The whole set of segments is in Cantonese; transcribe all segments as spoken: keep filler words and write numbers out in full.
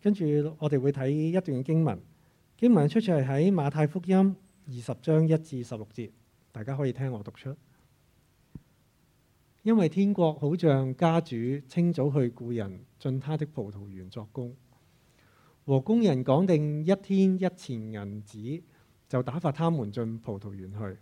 跟住我哋會睇一段經文，經文出處係喺馬太福音二十章一至十六節，大家可以聽我讀出。因為天國好像家主清早去僱人進他的葡萄園作工，和工人講定一天一錢銀子，就打發他們進葡萄園去。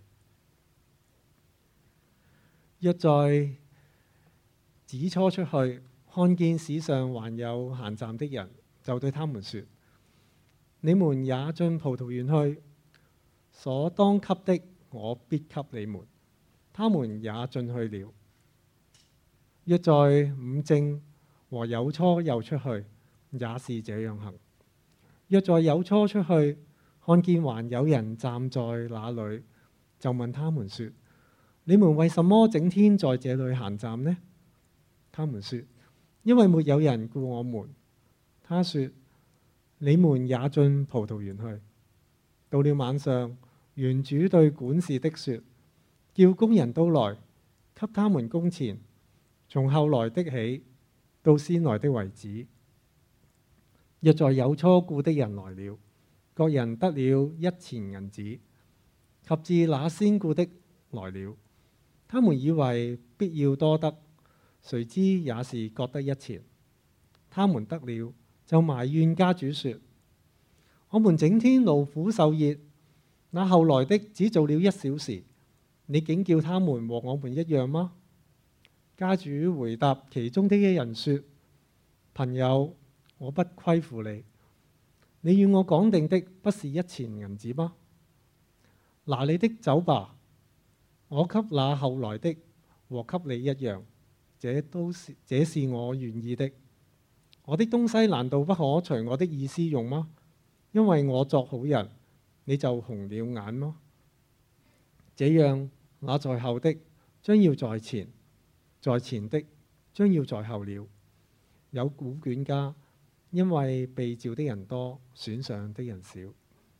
約在子初出去，看見市上還有閒站的人，就對他們說：你們也進葡萄園去，所當給的我必給你們。他們也進去了。約在午正和酉初又出去，也是這樣行。約在酉初出去，看見還有人站在那裏，就問他們說：你們為什麼整天在這裏閒站呢？他們說：因為沒有人僱我們。他說：你們也進葡萄園去。到了晚上，園主對管事的說：叫工人都來，給他們工錢，從後來的起到先來的為止。約在酉初僱的人來了，各人得了一錢銀子。及至那先僱的來了，他們以為必要多得，誰知也是各得一錢。他們得了，就埋怨家主說：我們整天勞苦受熱，那後來的只做了一小時，你竟叫他們和我們一樣嗎？家主回答其中的一人說：朋友，我不虧負你，你與我講定的不是一錢銀子嗎？拿你的走吧，我給那後來的和給你一樣，這都是這是我願意的。我的東西難道不可隨我的意思用嗎？因為我作好人，你就紅了眼嗎？這樣，那在後的將要在前，在前的將要在後了。有古卷家，因為被召的人多，選上的人少。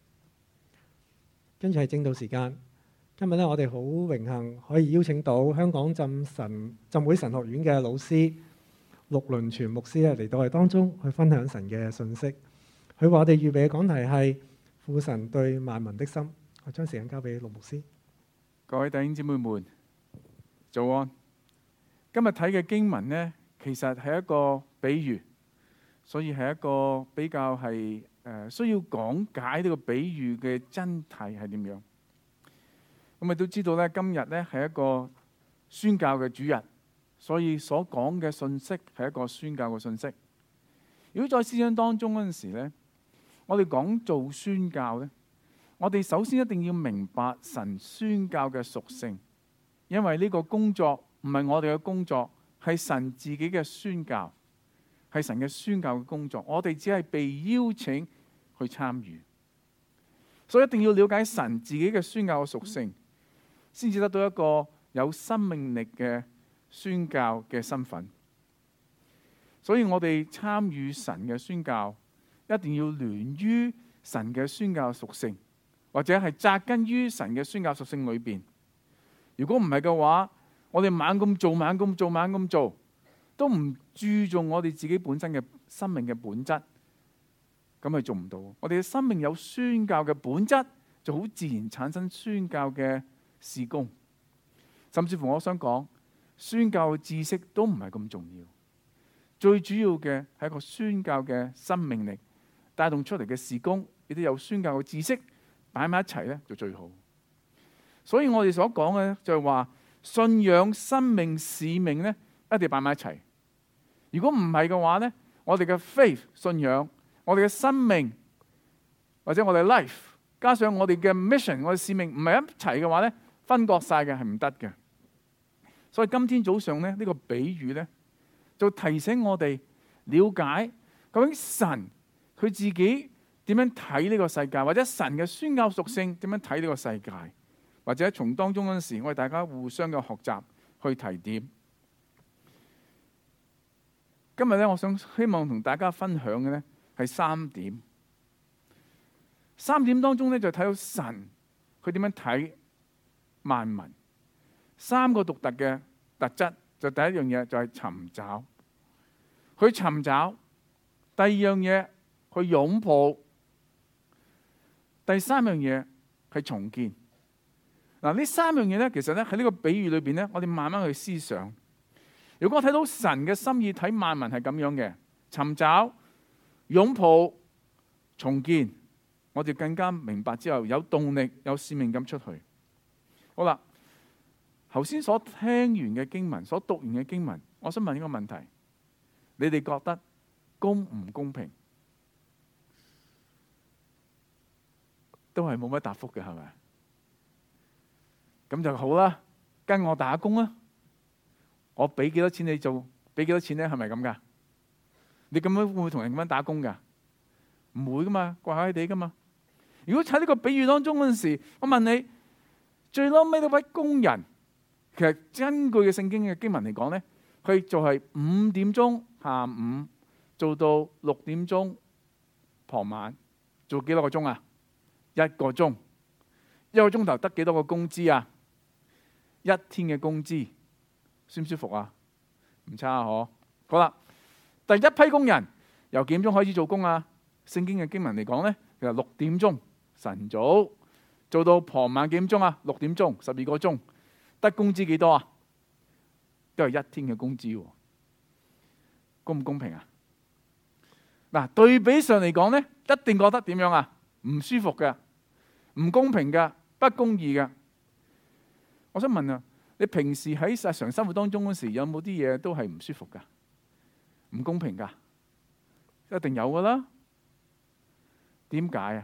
跟住係正道時間，今日咧我哋好榮幸可以邀請到香港浸神浸會神學院嘅老師陸倫全牧師咧嚟到我哋當中去分享神嘅信息。佢話我哋預備嘅講題係父神對萬民的心。我將時間交俾陸牧師。 各位弟兄姊妹們，早安。今日睇嘅經文呢，其實係一個比喻，所以係一個比較係誒需要講解呢個比喻嘅真諦係點樣。咁咪都知道咧，今日咧係一個宣教嘅主日，所以所講嘅信息係一個宣教嘅信息。如果在思想當中嗰陣時咧，我哋講做宣教咧，我哋首先一定要明白神宣教嘅屬性，因為呢個工作唔係我哋嘅工作，係神自己嘅宣教，係神嘅宣教嘅工作，我哋只係被邀請去參與，所以一定要了解神自己嘅宣教嘅屬性，先至得到一個有生命力嘅宣教嘅身份。所以我哋參與神嘅宣教，一定要聯於神嘅宣教屬性，或者係扎根於神嘅宣教屬性裏邊。如果唔係嘅話，我哋猛咁做、猛咁做、猛咁做，都唔注重我哋自己本身嘅生命嘅本質，咁係做唔到。我哋嘅生命有宣教嘅本質，就好自然產生宣教嘅事工。甚至乎我想講，宣教嘅知識都唔係咁重要，最主要嘅係一個宣教嘅生命力帶動出嚟嘅事工，亦都有宣教嘅知識擺埋一齊咧，就最好。所以我哋所講嘅就係話，信仰、生命、使命咧，一定要擺埋一齊。如果唔係嘅話咧，我哋嘅 faith 信仰，我哋嘅生命或者我哋 life，加上我哋嘅 mission， 我哋使命唔係一齊嘅話咧，分割晒嘅係唔得嘅。所以今天早上咧，呢個比喻咧，就提醒我哋了解究竟神佢自己點樣睇呢個世界，或者神嘅宣教屬性點樣睇呢個世界，或者從當中嗰陣時，我哋大家互相嘅學習去提點。今日咧，我想希望同大家分享嘅咧係三點。三點當中咧就睇到神佢點樣睇萬民，三個獨特嘅特質。就第一樣嘢就係尋找，佢尋找；第二樣嘢去擁抱。第三樣嘢係重建。嗱，呢三樣嘢咧，其實咧喺呢個比喻裏邊咧，我哋慢慢去思想。如果我睇到神嘅心意，睇萬民係咁樣嘅，尋找、擁抱、重建，我哋更加明白之後有動力、有使命感出去。好啦，頭先所聽完嘅經文，所讀完嘅經文，我想問一個問題：你哋覺得公唔公平？都係冇乜答覆嘅，係咪？咁就好啦，跟我打工啦。我俾幾多錢你做？俾幾多錢咧？係咪咁噶？你咁樣會唔會同人咁樣打工噶？唔會噶嘛，怪怪地噶嘛。如果喺呢個比喻當中嗰陣時，我問你，最嬲尾嗰位工人，其實根據嘅聖經嘅經文嚟講咧，佢就係五點鐘下午做到六點鐘傍晚，做幾多個鐘啊？一個鐘，一個鐘頭得幾多個工資啊？一天嘅工資，舒唔舒服啊？唔差啊，嗬。好啦，第一批工人由幾點鐘開始做工啊？聖經嘅經文嚟講咧，其實六點鐘晨早做到傍晚幾點鐘啊？六點鐘，十二個鐘，得工資幾多啊？都係一天嘅工資，公唔公平啊？嗱，對比上嚟講咧，一定覺得點樣啊？唔舒服嘅，唔公平嘅，不公義嘅。我想問啊，你平時喺日常生活當中嗰時，有冇啲嘢都係唔舒服噶、唔公平噶？一定有噶啦。點解啊？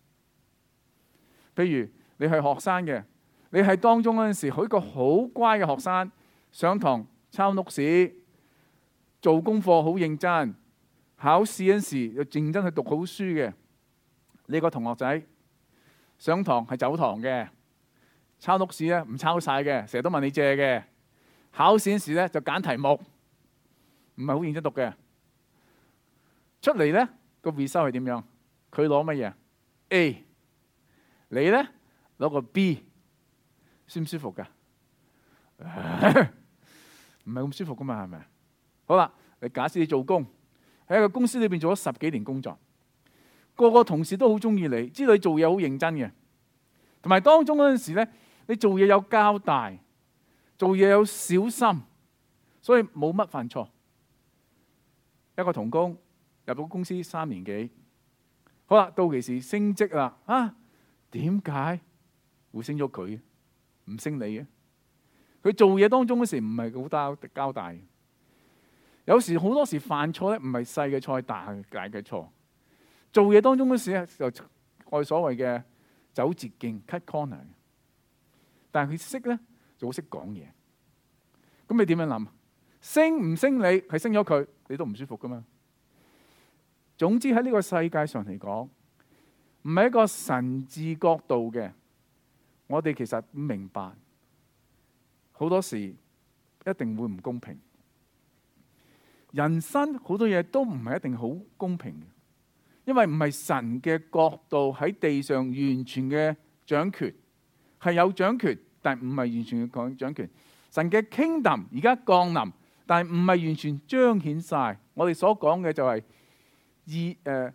譬如你係學生嘅，你係當中嗰陣時，好一個好乖嘅學生，上堂抄 notes，做功課好認真，考試嗰陣時又認真去讀好書嘅。你個同學仔上堂係走堂嘅，抄 notes 咧唔抄晒嘅，成日都問你借嘅。考試嗰時咧就揀題目，唔係好認真讀嘅。出嚟咧個 result 係點樣？佢攞乜嘢 ？A， 你咧攞個 B， 舒唔舒服噶？唔係咁舒服噶嘛，係咪？好啦，你假設你做工喺一個公司裏邊做咗十幾年工作。個個同事都好中意你，知道你做嘢好認真嘅，同埋當中嗰陣時咧，你做嘢有交代，做嘢有小心，所以冇乜犯錯。一個同工入到公司三年幾，好啦，到期時升職啦，啊，點解會升咗佢，唔升你嘅？佢做嘢當中嗰時唔係好交交代，有時好多時犯錯咧，唔係細嘅錯，大大嘅錯。做嘢當中嗰時咧，就我哋所謂嘅走捷徑 cut corner， 但係佢識咧就好識講嘢。咁你點樣諗？升唔升你係升咗佢，你都唔舒服噶嘛。總之喺呢個世界上嚟講，唔係一個神治角度嘅，我哋其實明白好多時一定會唔公平。人生好多嘢都唔係一定好公平嘅。因為唔係神嘅角度喺地上完全嘅掌權，係有掌權，但唔係完全嘅掌權。神嘅 kingdom 而家降臨，但係唔係完全彰顯晒。我哋所講嘅就係以誒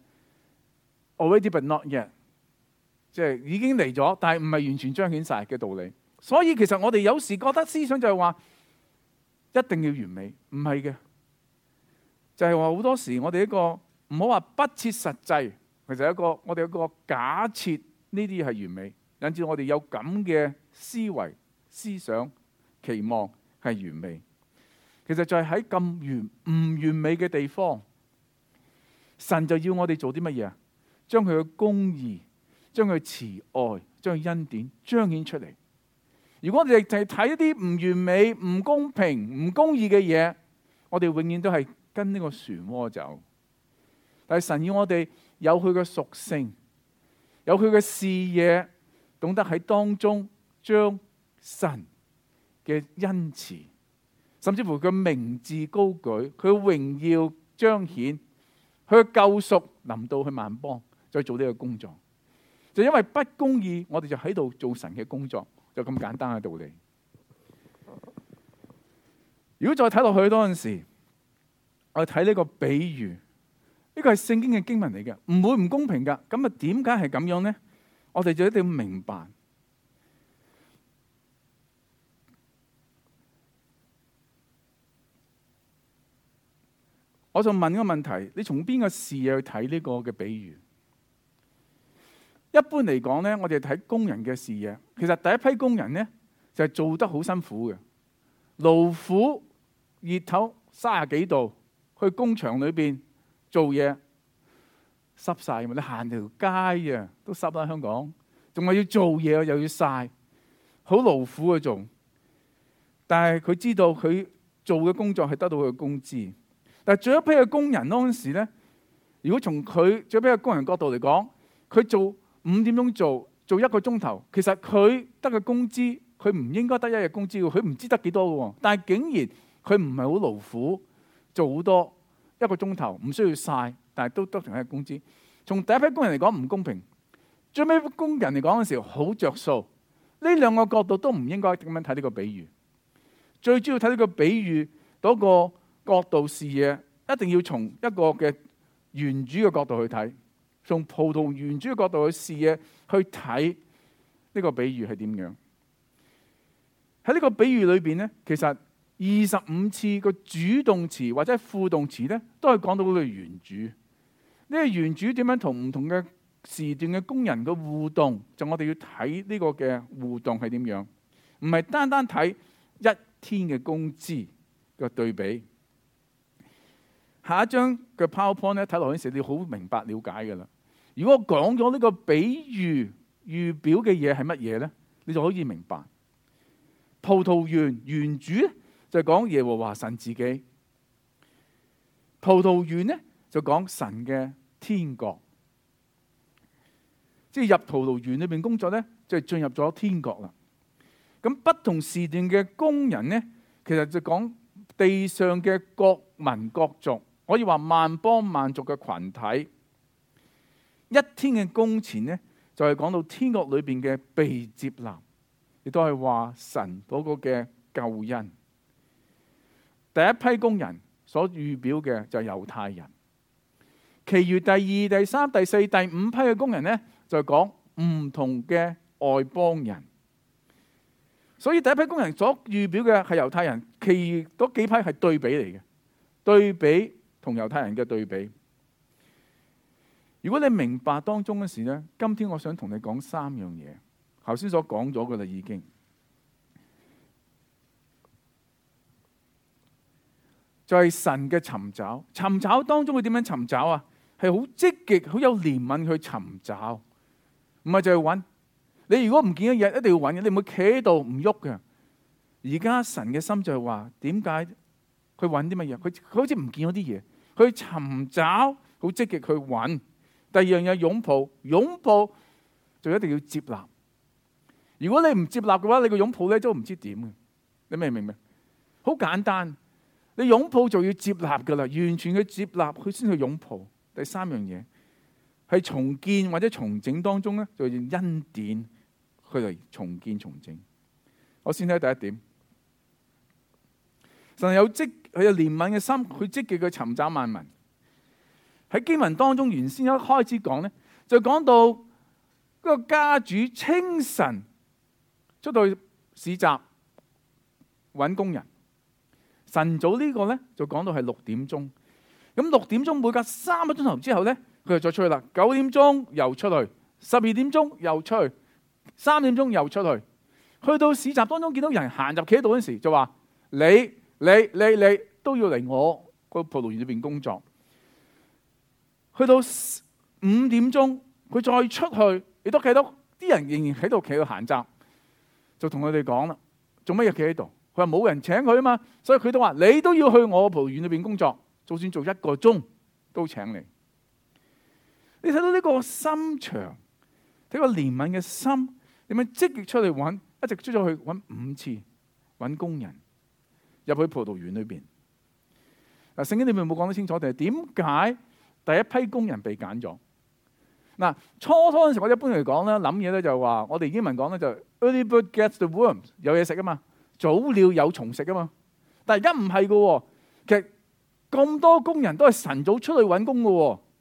already but not yet， 即係已經嚟咗，但係唔係完全彰顯晒嘅道理。所以其實我哋有時覺得思想就係話一定要完美，唔係嘅，就係話好多時我哋一個。唔好話不切實際，其實一個我哋有一個假設呢啲係完美，引致我哋有咁嘅思維、思想、期望係完美。其實就係喺咁完唔完美嘅地方，神就要我哋做啲乜嘢啊？將佢嘅公義、將佢慈愛、將佢恩典彰顯出嚟。如果我哋淨係睇一啲唔完美、唔公平、唔公義嘅嘢，我哋永遠都係跟呢個漩渦走。但係神要我哋有佢嘅屬性，有佢嘅視野，懂得喺當中將神嘅恩慈，甚至乎佢名字高舉，佢嘅榮耀彰顯，佢嘅救贖臨到去萬邦，再做呢個工作。就因為不公義，我哋就喺度做神嘅工作，就咁簡單嘅道理。如果再睇落去嗰陣時，我哋睇呢個比喻。 呢個係聖經嘅經文嚟嘅，唔會唔公平㗎。咁啊，點解係咁樣呢？我哋就一定要明白。我就問個問題：你從邊個視野去睇呢個嘅比喻？一般嚟講呢，我哋睇工人嘅視野。其實第一批工人呢，就係做得好辛苦嘅，勞苦熱頭三十幾度去工場裏邊做嘢，濕晒嘛！你行條街啊都濕啦，香港仲係要做嘢又要曬，好勞苦去做。但係佢知道佢做嘅工作係得到佢嘅工資。但係最後一批嘅工人嗰陣時咧，如果從佢最後一批嘅工人角度嚟講，佢做五點鐘做做一個鐘頭，其實佢得嘅工資，佢唔應該得一日工資嘅，佢唔知得幾多嘅喎。但係竟然佢唔係好勞苦，做好多一個鐘頭，唔需要曬，但係都得同一日工資。從第一批工人嚟講唔公平，最尾工人嚟講嘅時候好着數。呢兩個角度都唔應該咁樣睇呢個比喻。最主要睇呢個比喻嗰個角度視野，一定要從一個嘅園主嘅角度去睇，從葡萄園主嘅角度去視野去睇呢個比喻係點樣。喺呢個比喻裏邊呢，其實二十五次個主動詞或者副動詞呢，都係講到嗰個園主。呢個園主點樣同唔同嘅時段嘅工人嘅互動，就我哋要睇呢個嘅互動係點樣，唔係單單睇一天嘅工資嘅對比。下一張嘅 PowerPoint 咧，睇落嗰陣時你好明白了解㗎啦。如果我講咗呢個比喻預表嘅嘢係乜嘢咧，你就可以明白。葡萄園園主咧就講耶和華神自己，葡萄園咧就講神嘅天國，即係入葡萄園裏邊工作咧，就係進入咗天國啦。咁不同時段嘅工人咧，其實就講地上嘅各民各族。可以話萬邦萬族嘅群體，一天嘅工錢呢，就係講到天國裏邊嘅被接納，亦都係話神嗰個嘅救恩。第一批工人所預表嘅就係猶太人，其餘第二、第三、第四、第五批嘅工人呢，就係講唔同嘅外邦人。所以第一批工人所預表嘅係猶太人，其餘嗰幾批係對比嚟嘅，對比。同猶太人嘅對比，如果你明白當中嘅事呢，今天我想同你講三樣嘢。頭先所講咗嘅啦，已經就係神嘅尋找。尋找當中佢點樣尋找啊？係好積極、好有憐憫去尋找，唔係就係揾。你如果唔見一嘢，一定要揾嘅，你唔會企喺度唔喐嘅。而家神嘅心就係話，點解佢揾啲乜嘢？佢佢好似唔見咗啲嘢。去尋找，好積極去揾。第二樣嘢擁抱，擁抱就一定要接納。如果你唔接納嘅話，你個擁抱咧都唔知點嘅。你明唔明？好簡單，你擁抱就要接納噶啦，完全去接納佢先去擁抱。第三樣嘢係重建或者重整當中咧，就用恩典去嚟重建重整。我先睇第一點，神有積。佢有憐憫嘅心，佢積極去尋找萬民。喺經文當中，原先一開始講呢，就講到嗰個家主清晨出到市集揾工人。晨早呢個呢，就講到係六點鐘。咁六點鐘每隔三個鐘頭之後呢，佢就再出去啦。九點鐘又出去，十二點鐘又出去，三點鐘又出去。去到市集當中見到人行入企喺度嗰陣時，就話你。你你你都要嚟我個葡萄園裏邊工作。去到五點鐘，佢再出去，亦都睇到啲人仍然喺度企喺度閒雜，就同佢哋講啦：做乜嘢企喺度？佢話冇人請佢啊嘛，所以佢都話你都要去我葡萄園裏邊工作，就算做一個鐘都請你。你睇到呢個心腸，睇個憐憫嘅心，點樣積極出嚟揾，一直出咗去揾五次揾工人。入去葡萄園裏邊，嗱，聖經裏面冇講得清楚，定係點解第一批工人被揀咗？嗱，初初嗰陣時，我一般嚟講咧，諗嘢咧就話，我哋英文講咧就 early bird gets the worm， 有嘢食啊嘛，早鳥有蟲食啊嘛。但係而家唔係噶，其實咁多工人都係晨早出去揾工噶，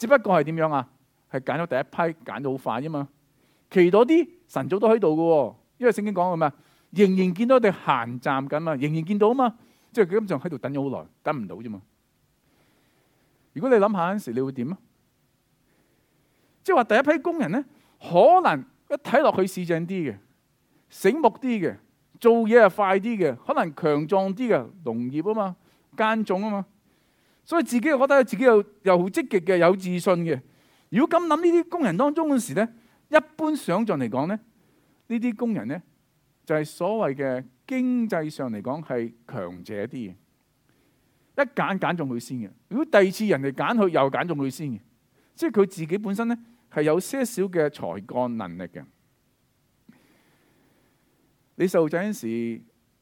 只不過係點樣啊？係揀咗第一批，揀到好快啫嘛。其他啲神早都喺度嘅，因為聖經講嘅咩？仍然見到佢哋閒站緊嘛，仍然見到啊嘛，即係佢咁就喺度等咗好耐，等唔到啫嘛。如果你諗下嗰陣時，你會點啊？即係話第一批工人咧，可能一睇落去市正啲嘅，醒目啲嘅，做嘢係快啲嘅，可能強壯啲嘅，農業啊嘛，耕種啊嘛，所以自己又覺得自己又又好積極嘅，有自信嘅。如果咁諗呢啲工人當中嗰時咧，一般想像嚟講咧，呢啲工人咧就係所謂嘅經濟上嚟講係強者啲嘅，一揀揀中佢先嘅。如果第二次人哋揀佢，又揀中佢先嘅，即係佢自己本身咧係有些少嘅才幹能力嘅。你細路仔嗰時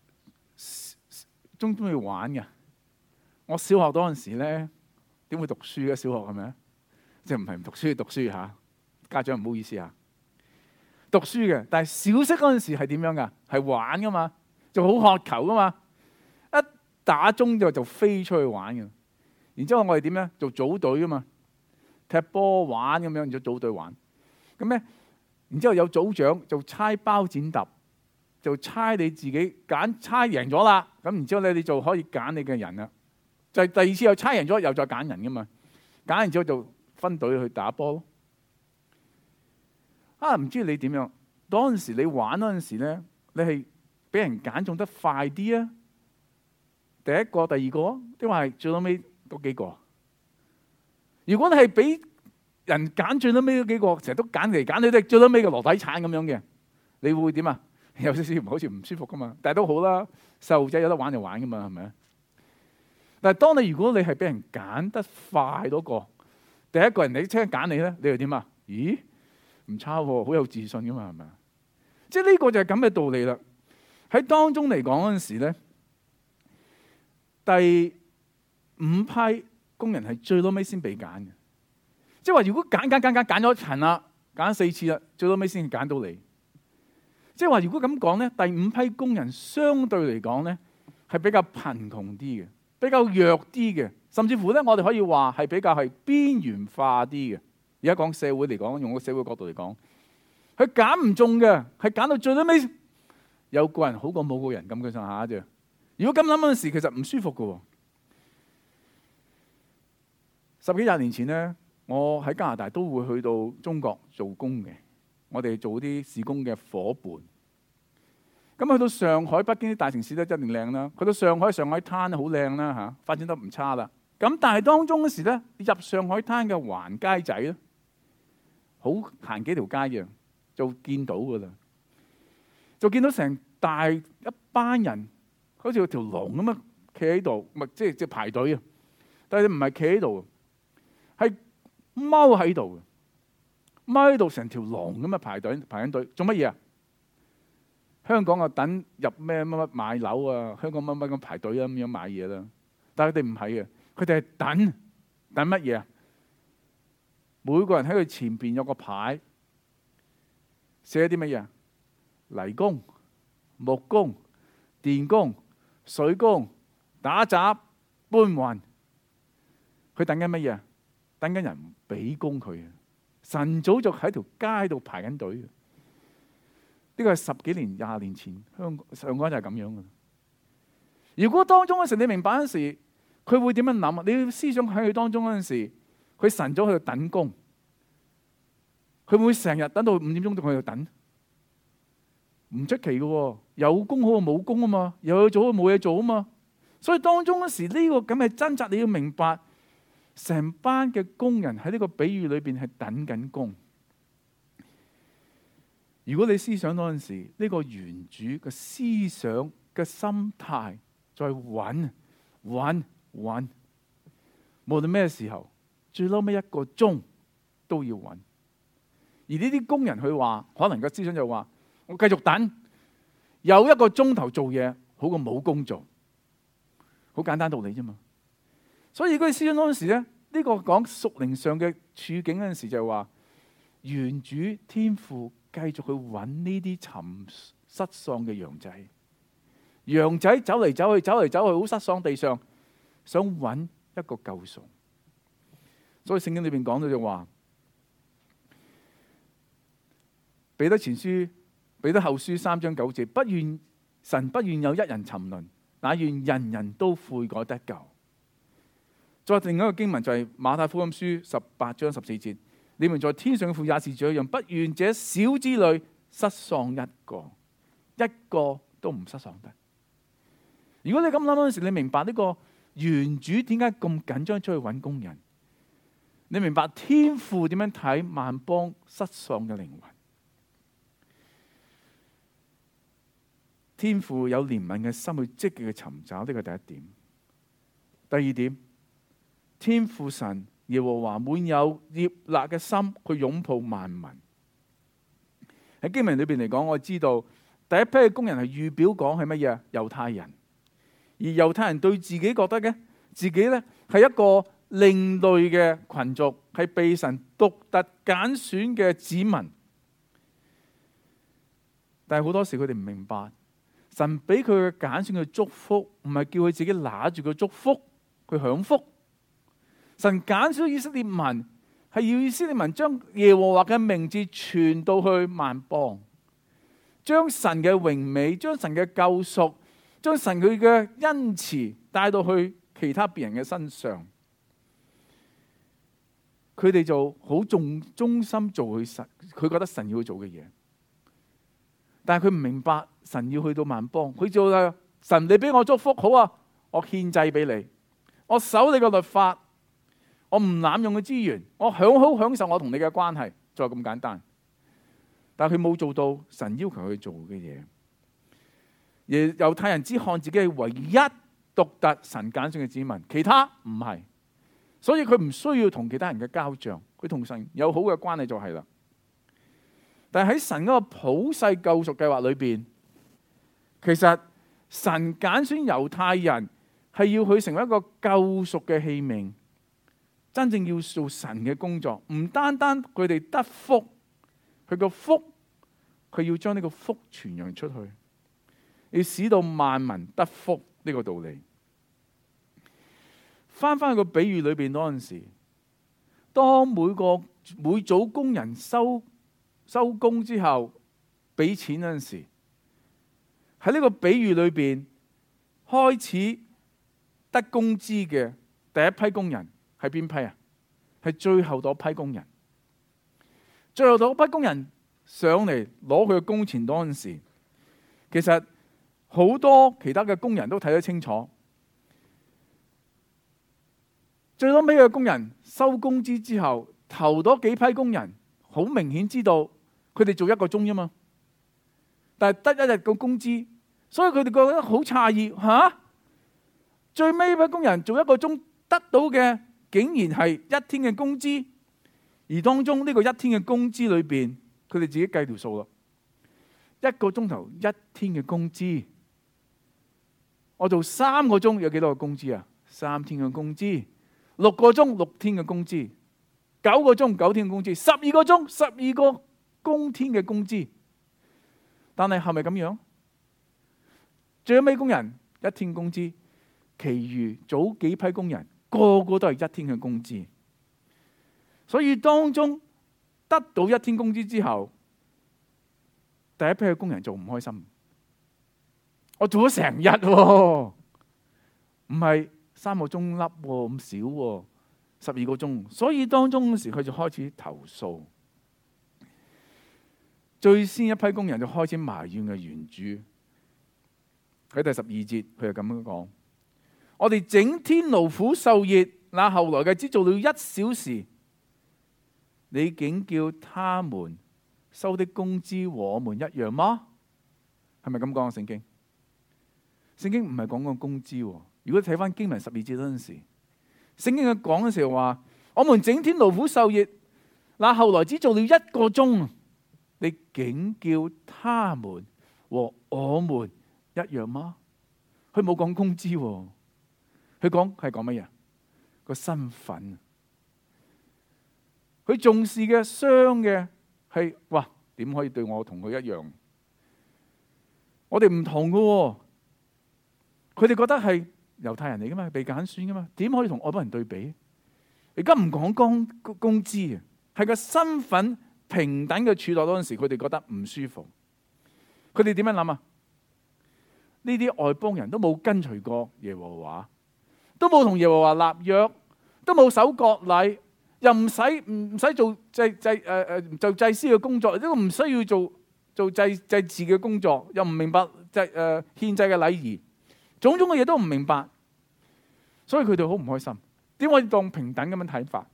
中唔中意玩嘅？我小學嗰陣時咧點會讀書嘅？小學係咪啊？即係唔係唔讀書，讀書嚇，家長唔好意思嚇。讀書嘅，但係小息嗰陣時係點樣噶？係玩噶嘛，就好渴求噶嘛。一打鐘就就飛出去玩嘅。然之後我哋點咧？做組隊噶嘛，踢波玩咁樣，然之後組隊玩。咁咧，然之後有組長就猜包剪揼，就猜你自己揀猜贏咗啦。咁然之後咧，你就可以揀你嘅人啦。就係第二次又猜贏咗，又再揀人噶嘛。揀完之後就分隊去打波咯。啊，唔知你點樣？當陣時你玩嗰陣時咧，你係俾人揀中得快啲啊？第一個、第二個，定話係最尾嗰幾個？如果你係俾人揀最尾嗰幾個，成日都揀嚟揀去都係最尾嘅籮底橙咁樣嘅，你會點啊？有少少好似唔舒服噶嘛？但係都好啦，細路仔有得玩就玩噶嘛，係咪啊？但係當你如果你係俾人揀得快嗰個，第一個人你即刻揀你咧，你又點啊？咦？唔差喎，好有自信噶嘛，係咪啊？即係呢個就係咁嘅道理啦。喺當中嚟講嗰陣時咧，第五批工人係最尾先被揀嘅。即係話如果揀揀揀揀揀咗一層啦，揀四次啦，最尾先揀到你。即係話如果咁講咧，第五批工人相對嚟講咧係比較貧窮啲嘅，比較弱啲嘅，甚至乎咧我哋可以話係比較係邊緣化啲嘅。而家講社會嚟講，用個社會角度嚟講，佢揀唔中嘅，係揀到最尾有個人好過冇個人咁嘅上下啫。如果咁諗嗰陣時，其實唔舒服嘅。十幾廿年前咧，我喺加拿大都會去到中國做工嘅，我哋做啲事工嘅伙伴。咁去到上海、北京啲大城市咧，一定靚啦。去到上海、上海灘好靚啦嚇，發展得唔差啦。咁但係當中嗰時咧，入上海灘嘅橫街仔咧，好行幾條街嘅就見到噶啦，就見到成大一班人，好似有條龍咁啊，企喺度，咪即係即係排隊啊！但係你唔係企喺度，係踎喺度，踎喺度成條龍咁啊排隊排緊隊，做乜嘢啊？香港啊等入咩乜乜買樓啊，香港乜乜咁排隊啊咁樣買嘢啦，但係佢哋唔係嘅，佢哋係等等乜嘢啊？每個人喺佢前邊有個牌，寫啲乜嘢？泥工、木工、電工、水工、打雜、搬運。佢等緊乜嘢？等緊人俾工佢。晨早就喺條街度排緊隊。呢個係十幾年、廿年前香港上港就係咁樣嘅。如果當中嗰時你明白嗰時，佢會點樣諗啊？你要思想喺佢當中嗰陣時，佢晨早喺度等工，佢會唔會成日等到五點鐘仲喺度等？唔出奇嘅，有工好過冇工啊嘛，有嘢做好過冇嘢做啊嘛。所以當中嗰時呢個咁嘅掙扎，你要明白，成班嘅工人喺呢個比喻裏邊係等緊工。如果你思想嗰陣時，呢個原主嘅思想嘅心態再揾揾揾，無論咩時候，最嬲尾一個鐘都要揾。而呢啲工人佢話，可能個思想就話：我繼續等，有一個鐘頭做嘢好過冇工做。好簡單道理啫嘛。所以如果你思想嗰陣時咧，呢個講屬靈上嘅處境嗰陣時就係話，原主天父繼續去揾呢啲尋失喪嘅羊仔，羊仔走嚟走去，走嚟走去，好失喪地上，想揾一個救贖。所所以聖經裏邊講到就話，彼得前書、彼得後書三章九節，不願神不願有一人沉淪，乃願人人都悔改得救。再另一個經文就係馬太福音書十八章十四節，你們在天上嘅父也是這樣，不願這小子裏失喪一個，一個都唔失喪得。如果你咁諗嗰陣時，你明白呢個原主點解咁緊張出去揾工人？你明白天父點樣睇萬邦失喪嘅靈魂？天父有憐憫嘅心去積極去尋找，呢個第一點。第二點，天父神耶和華滿有悅納嘅心去擁抱萬民。喺經文裏邊嚟講，我知道第一批嘅工人係預表講係乜嘢？猶太人。而猶太人對自己覺得嘅自己咧係一個另類嘅群族，係被神獨特揀選嘅子民。但係好多時佢哋唔明白，神俾佢嘅揀選嘅祝福，唔係叫佢自己拿住個祝福去享福。神揀選以色列民，係要以色列民將耶和華嘅名字傳到去萬邦，將神嘅榮美，將神嘅救贖，將神佢嘅恩慈帶到去其他別人嘅身上，佢哋就好重忠心做佢神，佢覺得神要去做嘅嘢。但係佢唔明白神要去到萬邦，佢就話神，你俾我祝福好啊，我獻祭俾你，我守你個律法，我唔濫用嘅資源，我享好享受我同你嘅關係，就係咁簡單。但係佢冇做到神要求佢做嘅嘢。而猶太人只看自己係唯一獨特神揀選嘅子民，其他唔係，所以佢唔需要同其他人嘅交賬，佢同神有好嘅關係就係啦。但係喺神嗰個普世救贖計劃裏邊，其實神揀選猶太人係要佢成為一個救贖嘅器皿，真正要做神嘅工作，唔單單佢哋得福，佢個福佢要將呢個福傳揚出去。要使到萬民得福，呢個道理。翻翻去個比喻裏邊嗰陣時，當每個每組工人收收工之後俾錢嗰陣時，喺呢個比喻裏邊開始得工資嘅第一批工人係邊批啊？係最後嗰批工人。最後嗰批工人上嚟攞佢嘅工錢嗰陣時，其實好多其他嘅工人都睇得清楚，最多尾嘅工人收工資之後，頭嗰幾批工人好明顯知道佢哋做一個鐘啫嘛，但係得一日嘅工資，所以佢哋覺得好詫異吓，最尾批工人做一個鐘得到嘅竟然係一天嘅工資，而當中呢個一天嘅工資裏邊，佢哋自己計條數啦，一個鐘頭一天嘅工資。我做三個鐘有幾多個工資啊？三天嘅工資，六個鐘六天嘅工資，九個鐘九天嘅工資，十二個鐘十二個工天嘅工資。但係係咪咁樣？最尾工人一天工資，其餘早幾批工人個個都係一天嘅工資。所以當中得到一天工資之後，第一批嘅工人就唔開心。我做咗成日喎，唔係三個鐘粒咁少喎，十二個鐘。所以當中嗰時佢就開始投訴。最先一批工人就開始埋怨嘅原主。喺第十二節佢就咁樣講：我哋整天勞苦受熱，那後來嘅只做了一小時，你竟叫他們收的工資和我們一樣嗎？係咪咁講啊？聖經？聖經唔係講個工資。如果睇翻經文十二節嗰陣時，聖經佢講嘅時候話：我們整天勞苦受熱，那後來只做了一個鐘，你竟叫他們和我們一樣嗎？佢冇講工資，佢講係講乜嘢？個身份。佢重視嘅傷嘅係，哇，點可以對我同佢一樣？我哋唔同㗎。佢哋覺得係猶太人嚟噶嘛，被揀選噶嘛，點可以同外邦人對比？ 而家唔講工工資啊，係個身份平等嘅處落嗰陣時，佢哋覺得唔舒服。佢哋點樣諗啊？呢啲外邦人都冇跟隨過耶和華，都冇同耶和華立約，都冇守割禮，又唔使唔使做祭祭誒誒做祭司嘅工作，都唔需要做做祭祭祀嘅工作，又唔明白祭誒獻祭嘅禮儀，種種嘅嘢都唔明白，所以佢哋好唔開心。點可以當平等咁樣睇法？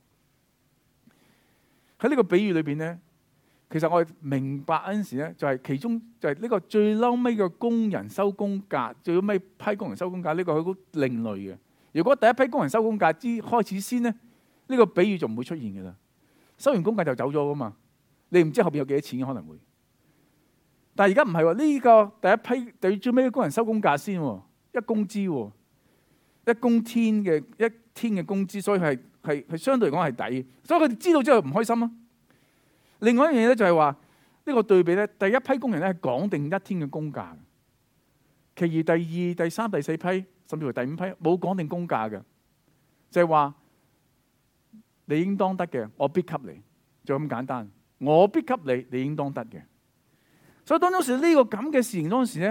喺呢個比喻裏邊咧，其實我哋明白嗰陣時咧，就係其中就係呢個最嬲尾嘅工人收工價，最尾批工人收工價呢個係好另類嘅。如果第一批工人收工價之開始先咧，呢個比喻就唔會出現嘅啦。收完工價就走咗噶嘛，你唔知後邊有幾多錢可能會。但係而家唔係喎，呢個第一批對最尾嘅工人收工價先，一工資喎。一公天嘅一天嘅工資，所以係係係相對嚟講係抵，所以佢哋知道之後唔開心啊。另外一樣嘢咧就係話呢個對比咧，第一批工人咧係講定一天嘅工價，其餘第二、第三、第四批甚至乎第五批冇講定工價嘅，就係話你應當得嘅，我必給你，就咁簡單。我必給你，你應當得嘅。所以當當時呢個咁嘅事情當時咧，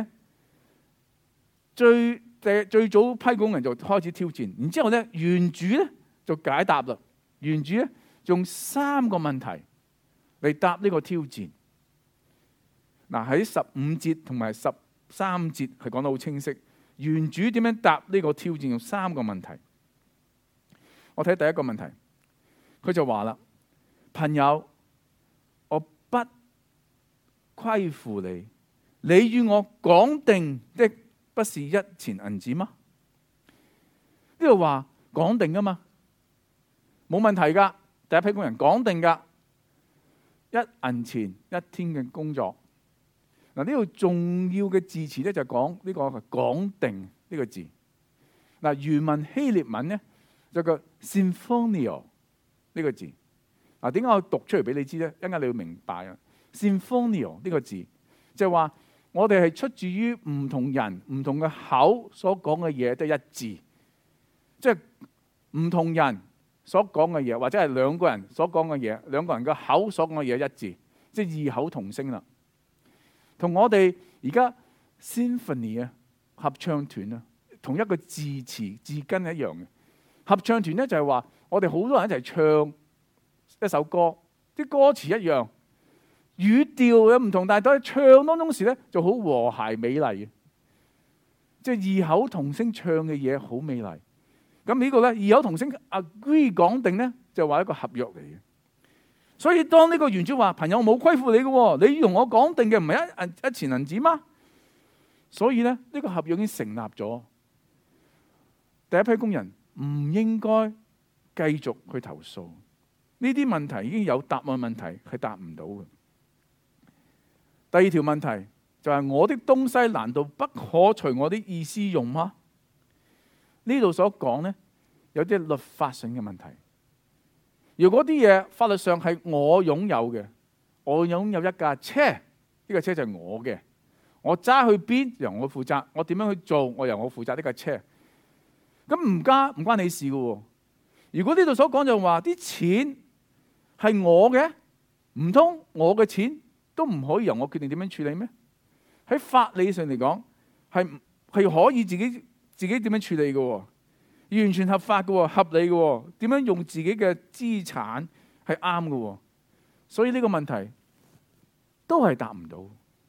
最最早批工人就開始挑戰，然之後咧，原主咧就解答啦。原主咧用三個問題嚟答呢個挑戰。嗱，喺十五節同埋十三節係講得好清晰。原主點樣答呢個挑戰？用三個問題。我睇第一個問題，佢就話啦：朋友，我不虧負你，你與我講定的不是一錢銀子嗎？呢度話講定噶嘛，冇問題噶。第一批工人講定噶，一銀錢一天嘅工作。嗱，呢度重要嘅字詞咧就講呢個講定呢個字。嗱，原文希臘文咧就個 Symphonio 呢個字。嗱，點解我讀出嚟俾你知咧？一陣間你要明白啊。Symphonio 呢個字就係話，我哋係出自於唔同人、唔同嘅口所講嘅嘢都一致，即係唔同人所講嘅嘢，或者係兩個人所講嘅嘢，兩個人嘅口所講嘅嘢一致，即係異口同聲啦。同我哋而家 symphony 啊，合唱團啊，同一個字詞字根一樣嘅。合唱團咧就係話，我哋好多人一齊唱一首歌，啲歌詞一樣。語調有唔同，但係喺唱當中時咧就好和諧美麗嘅，即係異口同聲唱嘅嘢好美麗。咁呢個咧異口同聲 agree 講定咧就話一個合約嚟嘅。所以當呢個原主話：朋友，冇虧負你嘅，你同我講定嘅唔係一銀一錢銀子嗎？所以咧呢個合約已經成立咗。第一批工人唔應該繼續去投訴，呢啲問題已經有答案，問題係答唔到嘅。第二條問題就係、是、我的東西難道不可隨我的意思用嗎？呢度所講呢，有啲律法性嘅問題。如果啲嘢法律上係我擁有嘅，我擁有一架車，呢架車就係我嘅，我揸去邊由我負責，我點樣去做我由我負責呢架車。咁唔加唔關你事嘅。如果呢度所講就話啲錢係我嘅，唔通我嘅錢都唔可以由我決定點樣處理咩？喺法理上嚟講，係係可以自己自己點樣處理嘅，完全合法嘅，合理嘅。點樣用自己嘅資產係啱嘅，所以呢個問題都係答唔到。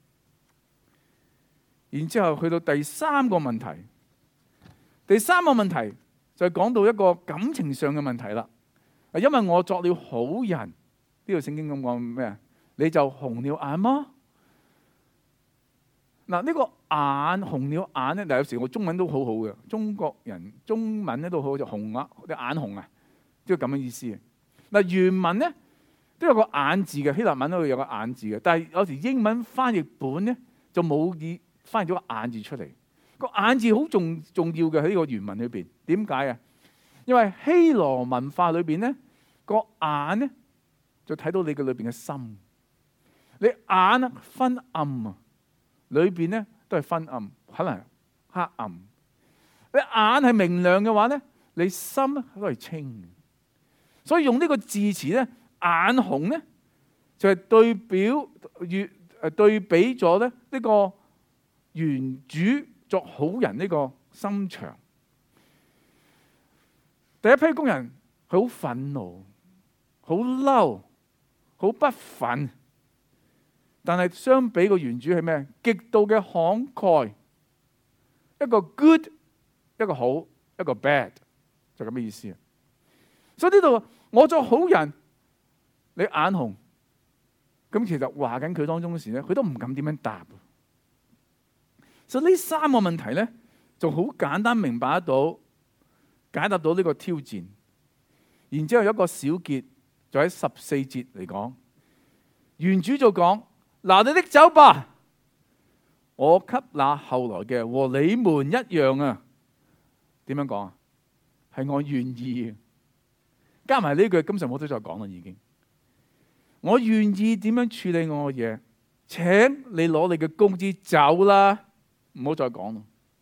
然之後去到第三個問題，第三個問題就係講到一個感情上嘅問題啦。因為我作了好人，呢度聖經咁講咩啊？你就紅了眼嗎？嗱，呢個眼紅了眼咧，嗱，有時我中文都好好嘅，中國人中文咧都好，就紅啊，啲眼紅啊，都係咁嘅意思。嗱，原文咧都有個眼字嘅，希臘文都有個眼字嘅，但係有時英文翻譯本咧就冇意翻譯咗個眼字出嚟。個眼字好重重要嘅喺呢個原文裏邊，點解啊？因為希羅文化裏邊咧個眼咧就睇到你嘅裏邊嘅心。你眼昏暗啊，裏邊咧都係昏暗，可能黑暗。你眼係明亮嘅話咧，你心都係清。 所以用呢個字詞咧，眼紅咧就係、是、對表與誒對比咗咧呢個原主作好人呢個心腸。第一批工人佢好憤怒、好嬲、好不忿，但係相比個原主係咩？極度嘅慷慨，一個 good， 一個好，一個 bad， 就咁嘅意思。所以呢度我作好人，你眼紅，咁其實話緊佢當中嘅時咧，佢都唔敢點樣答。所以呢三個問題咧，就好簡單明白得到。解答到呢個挑戰，然之後有一個小結，就喺十四節嚟講，原主就講：嗱，你拎走吧，我給那後來嘅和你們一樣啊。點樣講啊？係我願意，加埋呢句，今日我都再講啦，已經。我願意點樣處理我嘅嘢？請你攞你嘅工資走啦，唔好再講啦。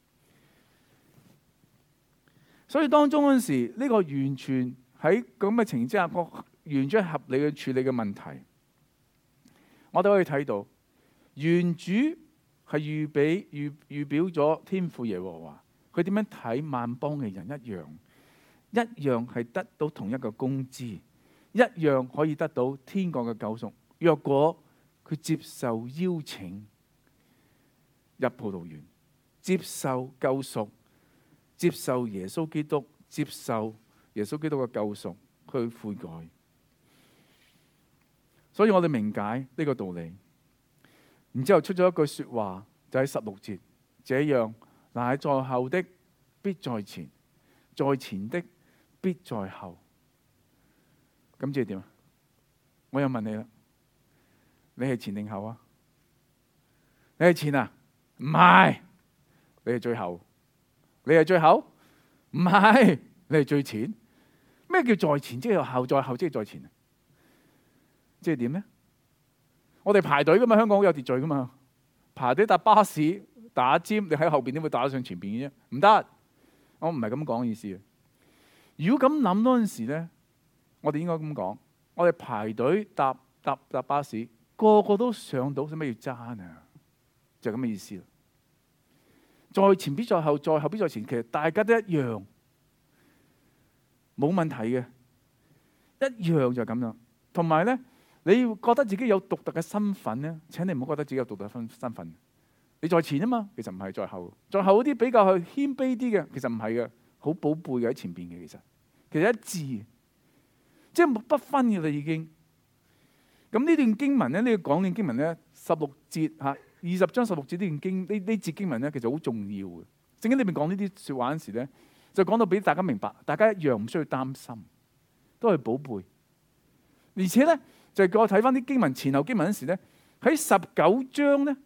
所以當中嗰陣時，呢、這個完全喺咁嘅情況之下，個完全合理嘅處理嘅問題，我哋可以睇到，原主係預備預預表咗天父耶和華，佢點樣睇萬邦嘅人一樣，一樣係得到同一個工資，一樣可以得到天國嘅救贖。若果佢接受邀請入葡萄園，接受救贖。接受耶穌基督，接受耶穌基督嘅救贖，去悔改。所以我哋明解呢個道理。然之後出咗一句說話，就喺十六節，這樣乃在後的必在前，在前的必在後。咁即係點啊？我又問你啦，你係前定後啊？你係前啊？唔係，你係最後。你係最後？唔係，你係最前。咩叫在前？即係後，在後即係在前。即係點咧？我哋排隊噶嘛，香港好有秩序噶嘛。排隊搭巴士打尖，你喺後邊點會打得上前邊嘅啫？唔得，我唔係咁講意思。如果咁諗嗰陣時咧，我哋應該咁講：我哋排隊搭搭搭巴士，個個都上到，使乜要爭啊？就係咁嘅意思。在前必在後，在後必在前，其實大家都一樣，冇問題嘅，一樣就係咁樣。同埋咧，你要覺得自己有獨特嘅身份咧，請你唔好覺得自己有獨特嘅身份。你在前啊嘛，其實唔係在後。在後嗰啲比較係謙卑啲嘅，其實唔係嘅，好寶貝嘅喺前邊嘅，其實其實一致，即係不分嘅啦已經。咁呢段經文咧，呢個講段經文咧，十六節嚇。二十章十六節呢段經呢呢節經文咧，其實好重要嘅。聖經裏面講呢啲說話嗰時咧，就講到俾大家明白，大家一樣唔需要擔心，都係寶貝。而且咧，就係叫我睇翻啲經文前後經文嗰時咧，喺十九章咧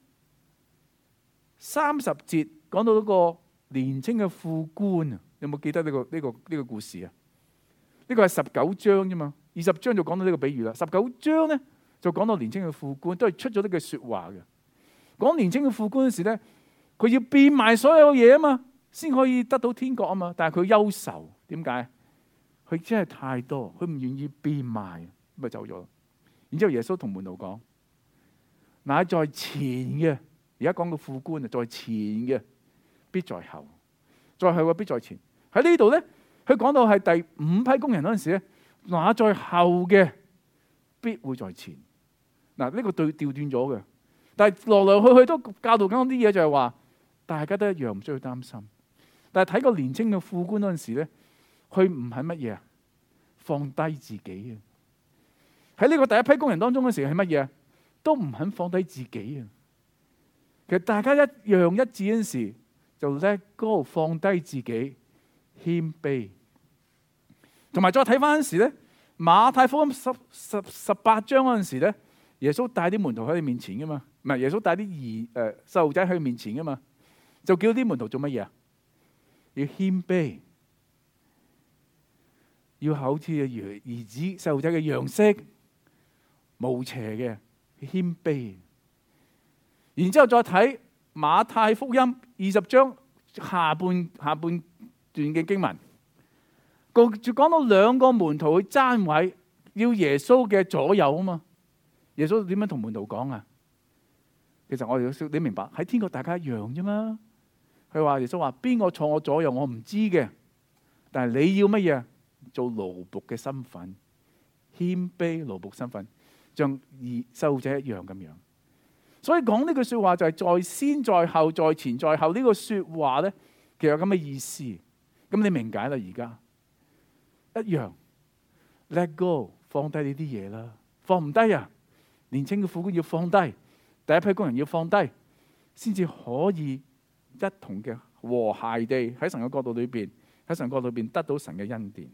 三十節講到嗰個年青嘅副官啊，有冇記得呢個呢個呢個故事啊？呢個係十九章啫嘛，二十章就講到呢個比喻啦。十九章咧就講到年青嘅副官，都係出咗呢句說話嘅。講年青嘅副官嗰時咧，佢要變賣所有嘢啊嘛，先可以得到天國啊嘛。但係佢憂愁，點解？佢真係太多，佢唔願意變賣，咁咪走咗。然之後耶穌同門徒講：乃在前嘅，而家講個副官啊，在前嘅必在後，在後嘅必在前。喺呢度咧，佢講到係第五批工人嗰陣時咧，那在後嘅必會在前。嗱，呢個對調轉咗嘅。但係來來去去都教導緊啲嘢，就係話大家都一樣，唔需要擔心。但係睇個年青嘅副官嗰陣時咧，佢唔係乜嘢啊？放低自己啊！喺呢個第一批工人當中嗰時係乜嘢啊？都唔肯放低自己啊！其實大家一樣一致嗰陣時，就 let go，放低自己，謙卑。同埋再睇翻嗰陣時咧，馬太福音十十十八章嗰陣時咧，耶穌帶啲門徒喺佢面前噶嘛。唔係耶穌帶啲兒誒細路仔喺佢面前噶嘛，就叫啲門徒做乜嘢啊？要謙卑，要好似兒兒子細路仔嘅樣式，無邪嘅謙卑。然之後再睇馬太福音二十章下半下半段嘅經文，嗰講講到兩個門徒去爭位，要耶穌嘅左右啊嘛。耶穌點樣同門徒講啊？其實我哋要你明白，喺天國大家一樣啫嘛。佢話耶穌話邊個坐我左右我唔知嘅，但係你要乜嘢？做奴僕嘅身份，謙卑奴僕身份，像兒細路仔一樣咁樣。所以講呢句說話就係在先在後在前在後呢個說話咧，其實有咁嘅意思。咁你明解啦？而家一樣 let go， 放低呢啲嘢啦，放唔低啊！年輕嘅苦工要放低，第一批工人要放低，先至可以一同嘅和諧地喺神嘅國度裏邊，喺神國度裏邊得到神嘅恩典。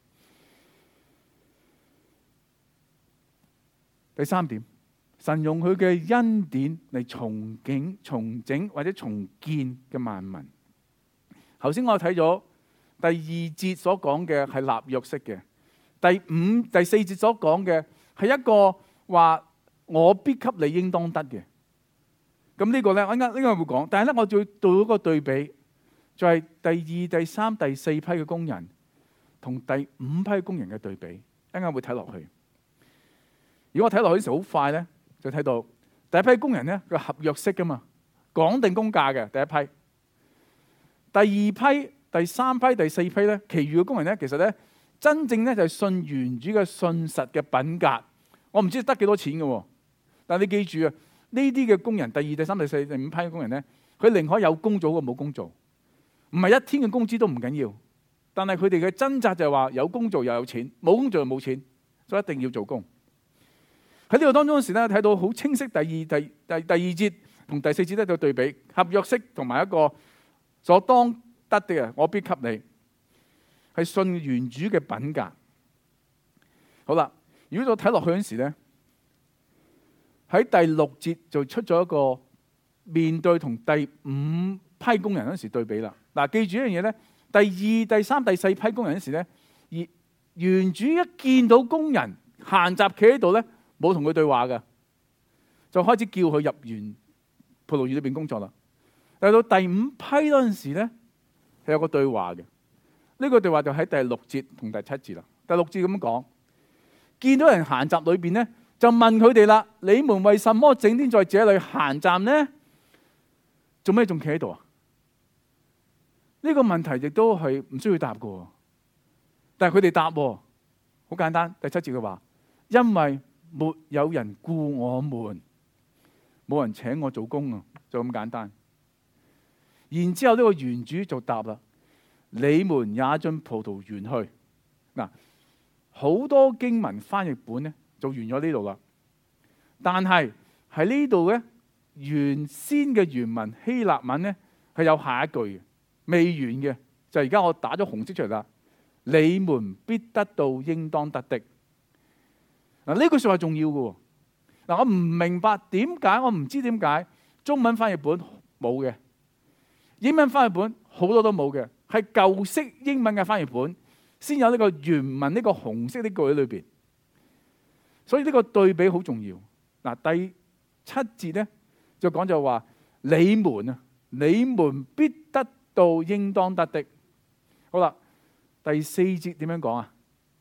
第三點，神用佢嘅恩典嚟重景、重整或者重建嘅萬民。頭先我睇咗第二節所講嘅係立約式嘅，第五、第四節所講嘅係一個話我必給你應當得嘅。咁呢個咧，我應該應該會講，但係咧，我再做一個對比，就係第二、第三、第四批嘅工人同第五批工人嘅對比，一陣間會睇落去。如果我睇落去嘅時候好快咧，就睇到第一批工人咧，佢合約式噶嘛，講定工價嘅第一批。第二批、第三批、第四批咧，其餘嘅工人咧，其實咧真正咧就係信原主嘅信實嘅品格。我唔知得幾多錢嘅，但係你記住啊，呢啲嘅工人，第二、第三、第四、第五批嘅工人咧，佢寧可有工做過冇工做，唔係一天嘅工資都唔緊要，但係佢哋嘅掙扎就係話有工做又有錢，冇工做又冇錢，所以一定要做工。喺呢個當中嘅時咧，睇到好清晰第二、第第第二節同第四節咧就對比合約式同埋一個所當得的啊，我必給你係信原主嘅品格。好啦，如果我睇落去嗰時咧，喺第六節就出咗一個面對同第五批工人嗰時對比啦。嗱，記住一樣嘢咧，第二、第三、第四批工人嗰時咧，而原主一見到工人閒雜企喺度咧，冇同佢對話嘅，就開始叫佢入園葡萄園裏邊工作啦。但係到第五批嗰陣時咧，係有個對話嘅。呢、這個對話就喺第六節同第七節啦。第六節咁講，見到人閒雜裏邊咧，就問佢哋啦：你們為什麼整天在這裏閒站呢？做咩仲企喺度啊？呢、這個問題亦都係唔需要答嘅，但係佢哋答，好簡單。第七節嘅話，因為沒有人僱我們，冇人請我做工啊，就咁簡單。然之後呢個園主就答啦：你們也進葡萄園去。嗱，好多經文翻譯本咧就完咗呢度啦。但係喺呢度咧，原先嘅原文希臘文咧係有下一句嘅，未完嘅，就而家我打咗紅色出嚟啦。你們必得到應當得的。嗱，呢句說話重要嘅。嗱，我唔明白點解，我唔知點解中文翻譯本冇嘅，英文翻譯本好多都冇嘅，係舊式英文嘅翻譯本先有呢個原文呢個紅色呢句喺裏邊。所以呢個對比好重要。嗱，第七節咧就講就話你們啊，你們必得到應當得的。好啦，第四節點樣講啊？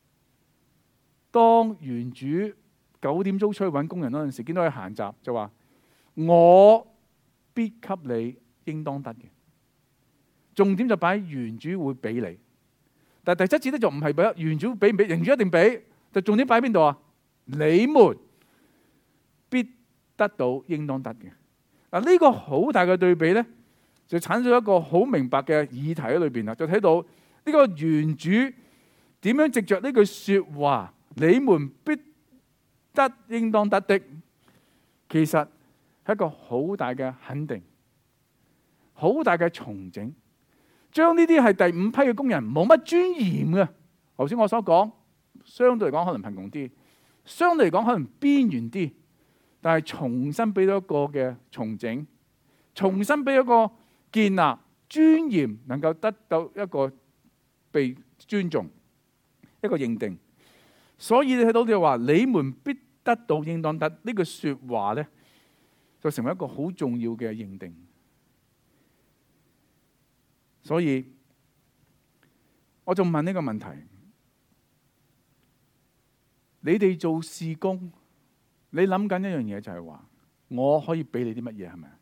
當園主九點鐘出去揾工人嗰陣時，見到佢閒雜，就話我必給你應當得嘅。重點就擺喺園主會俾你，但係第七節咧就唔係俾園主俾唔俾，園主一定俾，就重點擺喺邊度啊？你們必得到應當得嘅。嗱，呢個好大嘅對比咧，就產生一個好明白嘅議題喺裏邊啦。就睇到呢個園主點樣藉着呢句說話，你們必得應當得的，其實係一個好大嘅肯定，好大嘅重整，將呢啲係第五批嘅工人冇乜尊嚴嘅。頭先我所講，相對嚟講可能貧窮啲，相對嚟講可能邊緣啲，但係重新俾咗一個嘅重整，重新俾一個建立尊嚴，能夠得到一個被尊重，一個認定。所以你睇到就話，你們必得到應當得呢句說話咧，就成為一個好重要嘅認定。所以我就問呢個問題： 你哋做事工，你諗緊一樣嘢就係話，我可以俾你啲乜嘢係咪？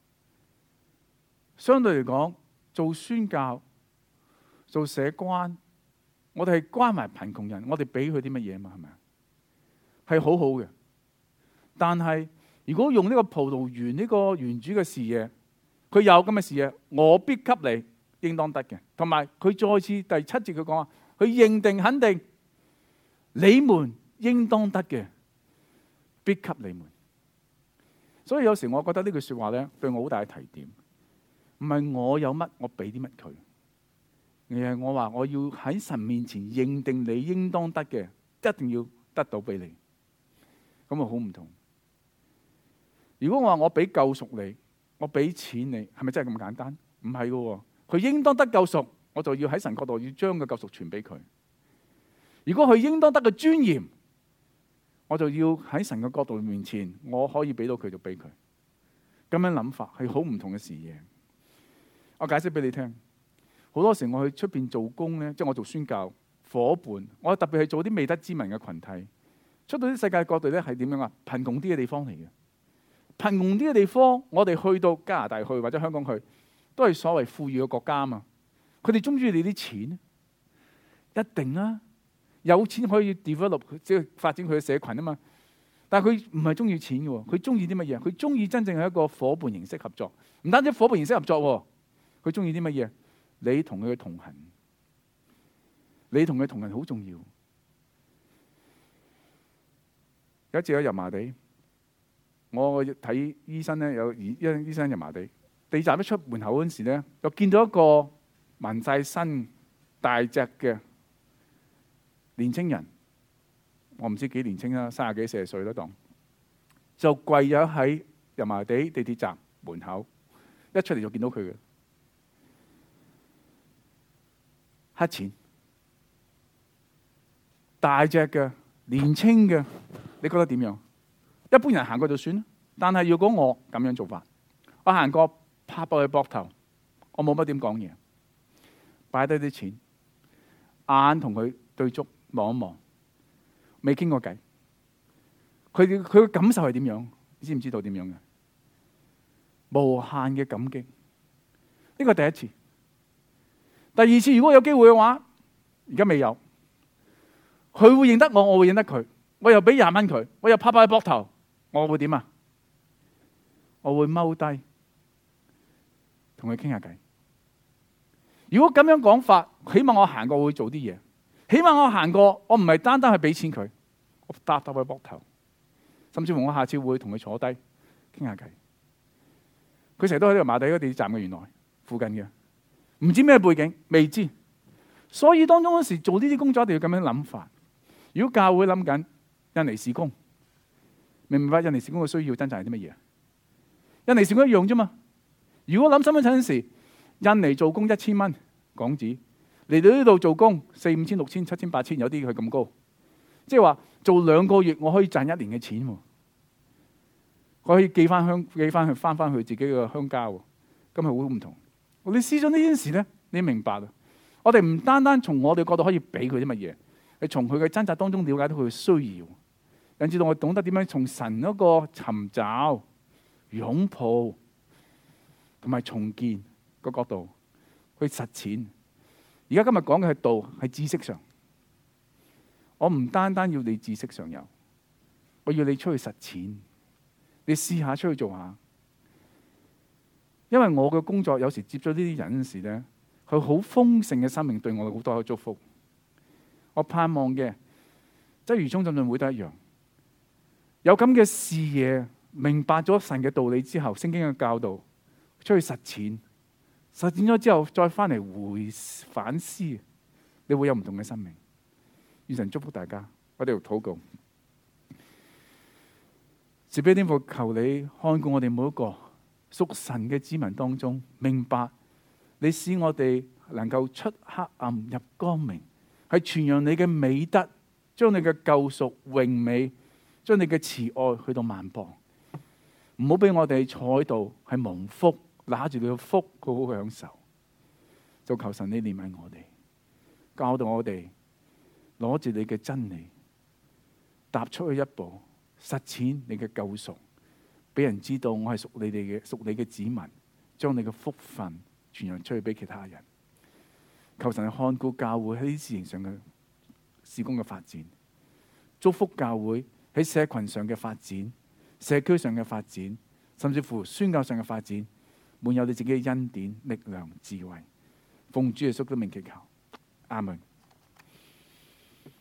相對嚟講，做宣教、做社關，我哋係關埋貧窮人，我哋俾佢啲乜嘢嘛？係咪？係好好嘅。但係如果用呢個葡萄園呢個園主嘅視野，佢有咁嘅視野，我必給你應當得嘅。同埋佢再次第七節佢講話，佢認定肯定你們應當得嘅，必給你們。所以有時我覺得呢句說話咧，對我好大嘅提點。唔係我有乜，我俾啲乜佢，而係我話我要喺神面前認定你應當得嘅，一定要得到俾你。咁啊好唔同。如果我話我俾救贖你，我俾錢你，係咪真係咁簡單？唔係噶，佢應當得救贖，我就要喺神角度要將個救贖傳俾佢。如果佢應當得嘅尊嚴，我就要喺神嘅角度面前，我可以俾到佢就俾佢。咁樣諗法係好唔同嘅視野。我解釋俾你聽，好多時我去出邊做工咧，即係我做宣教伙伴，我特別係做啲未得之民嘅群體，出到啲世界各地咧係點樣啊？貧窮啲嘅地方嚟嘅，貧窮啲嘅地方，我哋去到加拿大去或者香港去，都係所謂富裕嘅國家啊嘛。佢哋中唔中意你啲錢？一定啊，有錢可以 develop 即係發展佢嘅社群啊嘛。但係佢唔係中意錢嘅，佢中意啲乜嘢？佢中意真正係一個伙伴形式合作，唔單止伙伴形式合作。佢中意啲乜嘢？你同佢嘅同行，你同佢同行好重要。有一次喺油麻地，我睇醫生咧，有醫醫生油麻地地站一出門口嗰陣時咧，又見到一個紋晒身、大隻嘅年青人，我唔知幾年青啦，三十幾四十歲啦，當就跪咗喺油麻地地鐵站門口，一出嚟就見到佢嘅。黑錢，大隻嘅，年青嘅，你覺得點樣？一般人行過就算啦。但係如果我咁樣做法，我行過拍落佢膊頭，我冇乜點講嘢，擺低啲錢，眼同佢對足望一望，未傾過偈。佢佢嘅感受係點樣？你知唔知道點樣嘅？無限嘅感激。呢個第一次。第二次如果有機會嘅話，而家未有，佢會認得我，我會認得佢，我又俾廿蚊佢，我又拍拍佢膊頭，我會點啊？我會踎低同佢傾下偈。如果咁樣講法，起碼我行過我會做啲嘢，起碼我行過，我唔係單單去俾錢佢，我搭搭佢膊頭，甚至乎我下次會同佢坐低傾下偈。佢成日都喺呢個馬地嗰地鐵站嘅，原來附近嘅。唔知咩背景，未知，所以當中嗰時做呢啲工作一定要咁樣諗法。如果教會諗緊印尼事工，明唔明白印尼事工嘅需要真正係啲乜嘢？印尼事工一樣啫嘛。如果諗身份證嗰時，印尼做工一千蚊港紙，嚟到呢度做工四五千、六千、七千、八千，有啲佢咁高，即係話做兩個月我可以賺一年嘅錢，我可以寄翻鄉寄翻去翻翻去自己嘅鄉家，咁係好唔同。你試咗呢件事咧，你明白啦。我哋唔單單從我哋角度可以俾佢啲乜嘢，係從佢嘅掙扎當中了解到佢嘅需要，引致到我懂得點樣從神嗰個尋找、擁抱同埋重建個角度去實踐。而家今日講嘅係道，係知識上。我唔單單要你知識上有，我要你出去實踐，你試下出去做下。因為我嘅工作有時接咗呢啲人嗰時咧，佢好豐盛嘅生命對我好多嘅祝福。我盼望嘅，即係如中浸信會都一樣，有咁嘅視野，明白咗神嘅道理之後，聖經嘅教導，出去實踐，實踐咗之後再翻嚟回反思，你會有唔同嘅生命。願神祝福大家，我哋要禱告。慈悲天父，求你看顧我哋每一個屬神嘅子民當中，明白你使我哋能夠出黑暗入光明，係傳揚你嘅美德，將你嘅救贖榮美，將你嘅慈愛去到萬邦。唔好俾我哋坐喺度係蒙福，拿住你嘅福好好享受。就求神你憐憫我哋，教導我哋攞住你嘅真理， 踏出去一步，實踐你嘅救贖，俾人知道我係屬你哋嘅屬你嘅子民，將你嘅福分傳揚出去俾其他人。求神看顧教會喺呢啲事情上嘅事工嘅發展，祝福教會喺社群上嘅發展、社區上嘅發展，甚至乎宣教上嘅發展，滿有你自己嘅恩典、力量、智慧。奉主耶穌嘅名祈求，阿門。